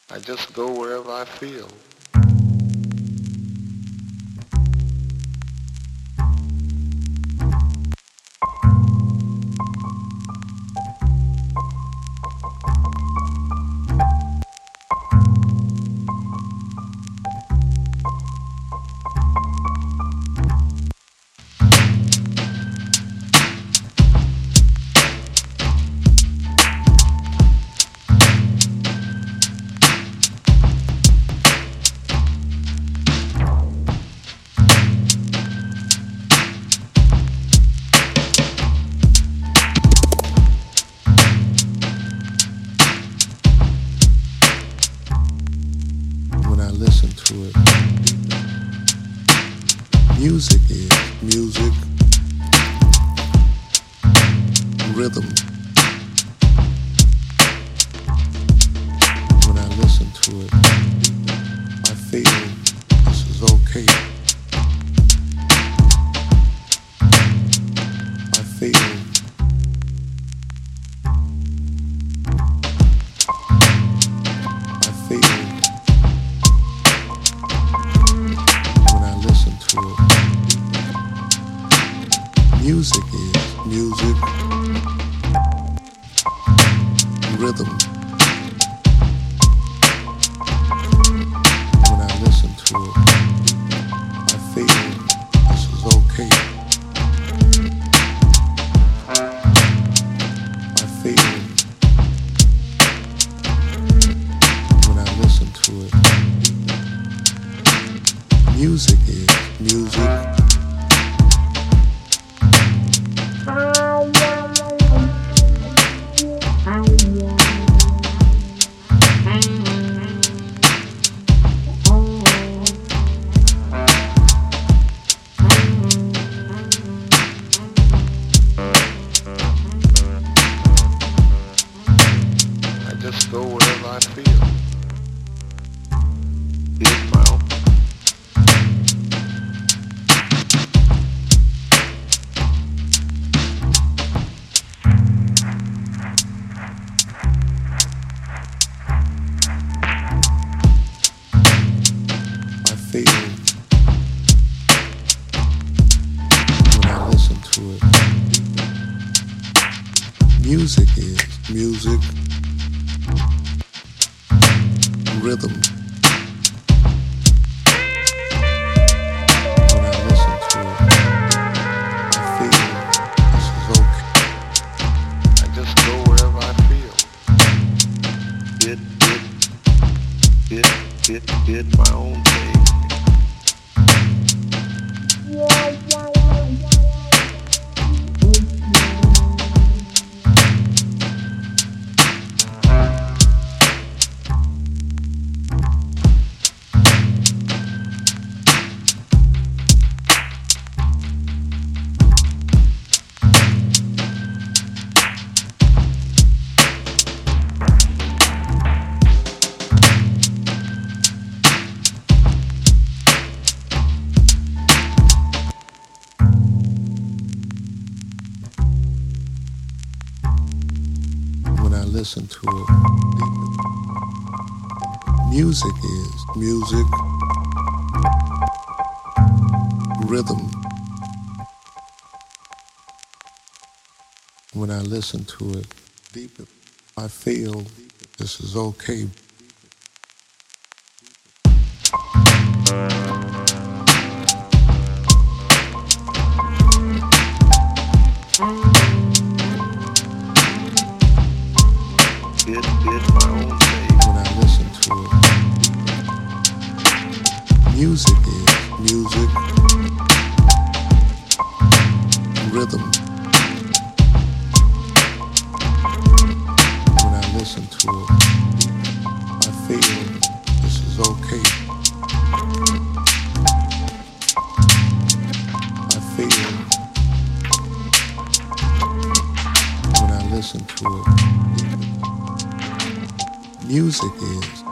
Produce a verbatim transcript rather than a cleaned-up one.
I just go wherever I feel. When I listen to it, music is music, rhythm. When I listen to it, I feel this is okay. I feel I feel when I listen to it. Music is music, rhythm. When I listen to it, I feel this is okay. I feel when I listen to it. Music is music. I just go wherever I feel. It's my own. I feel when I listen to it. Music is music, rhythm. When I listen to it, I feel this is okay. I just go wherever I feel. It, it, it, it, it, my own thing. When I listen to it, music is music, rhythm. When I listen to it, I feel this is okay. It, it's my own thing. When I listen to it, music is music, rhythm. When I listen to it, I feel this is okay. I feel when I listen to it. Music is